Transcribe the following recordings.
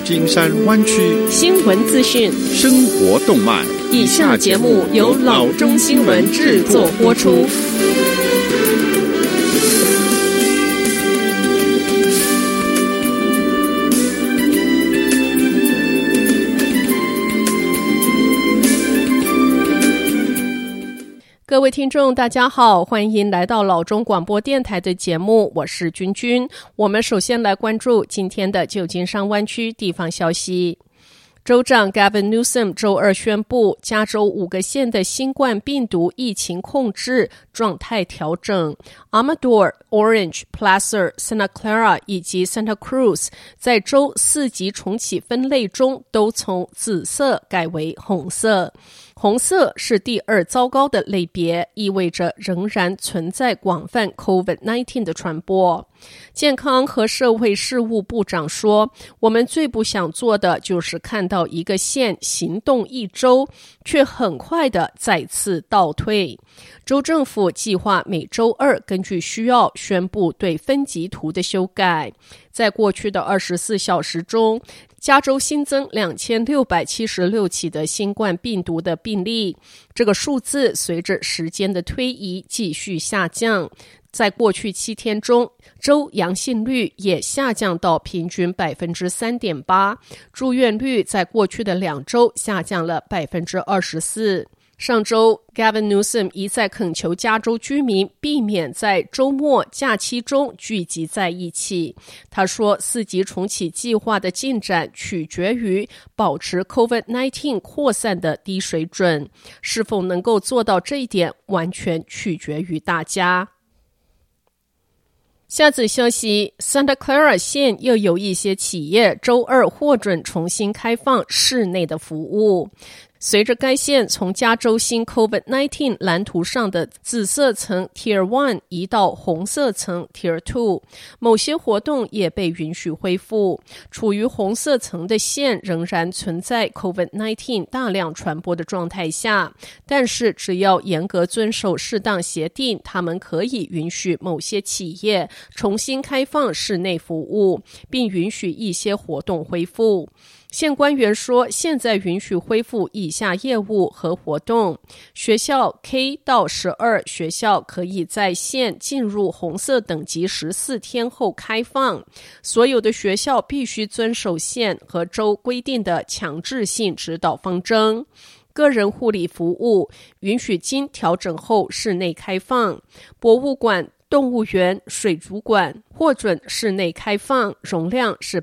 金山灣區新聞資訊、 生活動脈。 以下節目由老中新聞製作播出。各位聽眾大家好，歡迎來到老中廣播電臺的節目，我是君君。我們首先來關注今天的舊金山灣區地方消息。州長 Gavin Newsom 周二宣布，加州5個縣的新冠病毒疫情控制狀態調整。Amador、Orange、Placer、Santa Clara 以及 Santa Cruz 在州4級重啟分類中都從紫色改為紅色。紅色是第2糟糕的類別，意味着仍然存在廣泛 COVID-19 的傳播。健康和社會事務部長說，我們最不想做的就是看到一個縣行動1周，卻很快的再次倒退。州政府計劃每周2根據需要宣布對分級圖的修改。在過去的24小時中，加州新增2676起的新冠病毒的病例，這個數字隨着時間的推移繼續下降。在過去7天中，州陽性率也下降到平均 3.8%， 住院率在過去的2周下降了 24%。上周 Gavin Newsom 一再懇求加州居民避免在周末假期中聚集在一起。他說4級重啟計劃的進展取決於保持 COVID-19 擴散的低水準，是否能夠做到這一點完全取決於大家。下則消息， Santa Clara 縣又有一些企業周二獲准重新開放室內的服務。隨着該縣從加州新 COVID-19 藍圖上的紫色層 Tier 1移到紅色層 Tier 2， 某些活動也被允許恢復。處於紅色層的縣仍然存在 COVID-19 大量傳播的狀態下，但是只要嚴格遵守適當協定，他們可以允許某些企業重新開放室內服務，並允許一些活動恢復。縣官員說，現在允許恢復以下業務和活動：學校 K 到12學校可以在縣進入紅色等級14天後開放，所有的學校必須遵守縣和州規定的強制性指導方針。個人護理服務允許經調整後室內開放，博物館、動物園、水族館獲准室內開放，容量是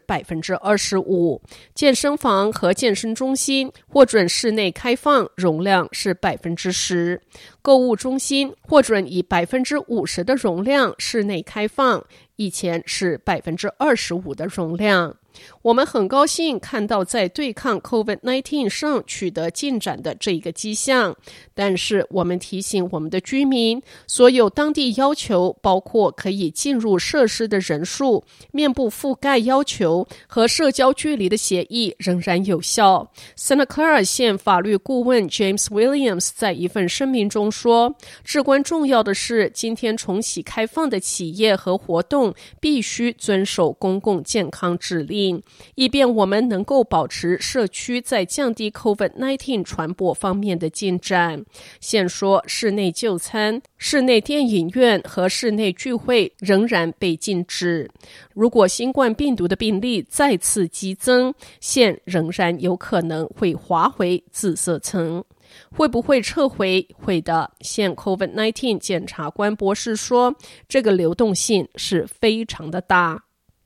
25%。健身房和健身中心獲准室內開放，容量是 10%。購物中心獲准以 50% 的容量室內開放，以前是 25% 的容量。我們很高興看到在對抗 COVID-19 上取得進展的這個跡象，但是我們提醒我們的居民，所有當地要求，包括可以進入設施的人數、面部覆蓋要求和社交距離的協議仍然有效。Santa Clara 縣法律顧問 James Williams 在一份聲明中說，至關重要的是，今天重啟開放的企業和活動必須遵守公共健康指令，以便我們能夠保持社區在降低 COVID-19 傳播方面的進展。縣說，室內就餐、室內電影院和室內聚會仍然被禁止。如果新冠病毒的病例再次激增，縣仍然有可能會滑回紫色層。會不會撤回？會的。縣 COVID-19 檢察官博士說，這個流動性是非常的大。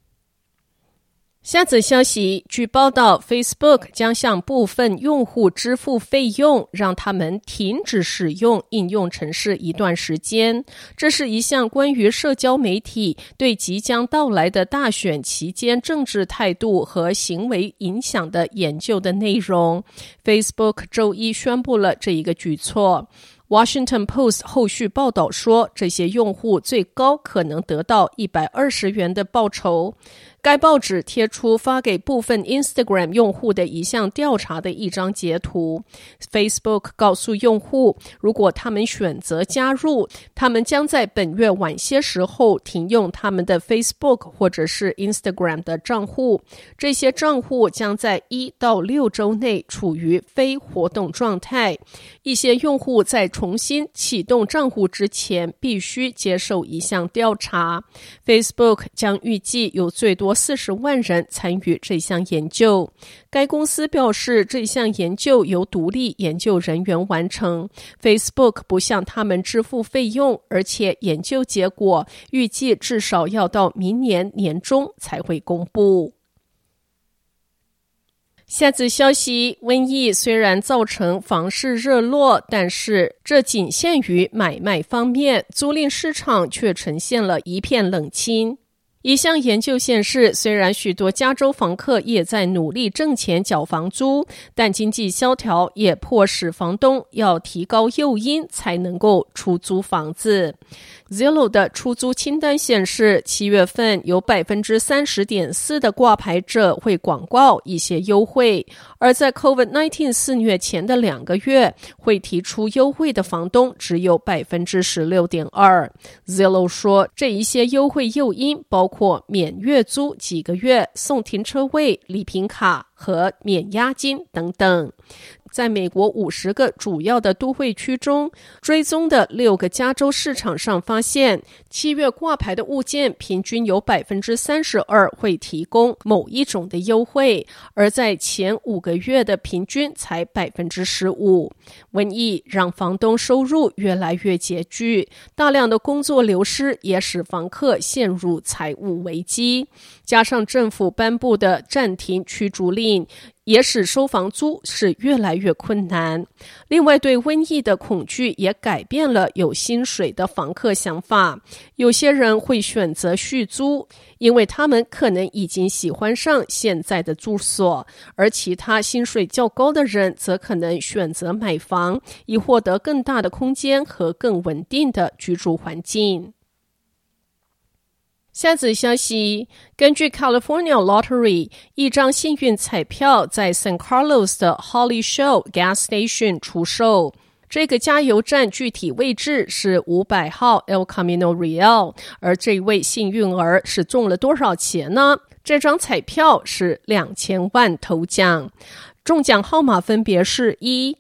下則消息，據報道 Facebook 將向部分用戶支付費用，讓他們停止使用應用程式一段時間。這是一項關於社交媒體對即將到來的大選期間政治態度和行為影響的研究的內容。Facebook 周一宣布了這一個舉措。Washington Post 後續報道說，這些用戶最高可能得到120元的報酬。 該報紙貼出發給部分 Instagram 用戶的一項調查的一張截圖。Facebook 告訴用戶，如果他們選擇加入，他們將在本月晚些時候停用他們的 Facebook 或者是 Instagram 的賬戶。這些賬戶將在1到6週內處於非活動狀態。一些用戶在重新啟動賬戶之前必須接受一項調查。Facebook 將預計有最多40萬人參與這項研究。該公司表示，這項研究由獨立研究人員完成。Facebook 不向他們支付費用，而且研究結果預計至少要到明年年中才會公布。下則消息，瘟疫雖然造成房市熱絡，但是這僅限於買賣方面，租賃市場卻呈現了一片冷清。一項研究顯示，雖然許多加州房客也在努力掙錢繳房租，但經濟蕭條也迫使房東要提高誘因才能夠出租房子。Zillow 的出租清單顯示，7月份有 30.4% 的掛牌者會廣告一些優惠，而在 COVID-19 肆虐前的2個月，會提出優惠的房東只有 16.2%。Zillow 說，這一些優惠誘因包括免月租幾個月、送停車位、禮品卡和免押金等等。在美國50個主要的都會區中，追蹤的6個加州市場上發現，7月掛牌的物件平均有 32% 會提供某一種的優惠，而在前5個月的平均才 15%。瘟疫讓房東收入越來越拮據，大量的工作流失也使房客陷入財務危機，加上政府頒布的暫停驅逐令，也使收房租是越來越困難。另外，對瘟疫的恐懼也改變了有薪水的房客想法。有些人會選擇續租，因為他們可能已經喜歡上現在的住所，而其他薪水較高的人則可能選擇買房，以獲得更大的空間和更穩定的居住環境。下則消息，根據 California Lottery， 一張幸運彩票在 San Carlos 的 Holly Shell Gas Station 出售。這個加油站具體位置是500號 El Camino Real， 而這位幸運兒是中了多少錢呢？這張彩票是2000萬頭獎。中獎號碼分別是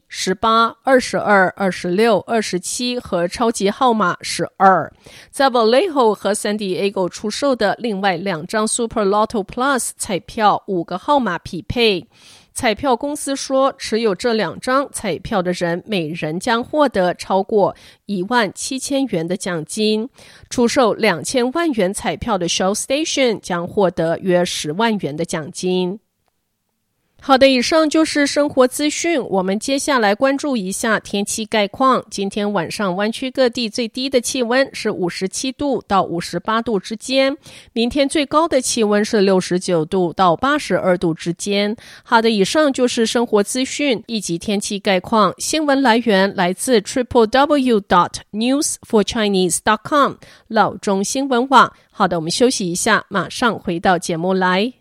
1、18、22、26、27和超級號碼12。在 Vallejo 和 San Diego 出售的另外2張 Super Lotto Plus 彩票5個號碼匹配。彩票公司說，持有這2張彩票的人每人將獲得超過17000元的獎金。出售2000萬元彩票的 Shell Station 將獲得約10萬元的獎金。好的，以上就是生活資訊。我們接下來關注一下天氣概況。今天晚上灣區各地最低的氣溫是57度到58度之間，明天最高的氣溫是69度到82度之間。好的，以上就是生活資訊以及天氣概況。新聞來源來自 www.newsforchinese.com 老中新聞網。好的，我們休息一下，馬上回到節目來。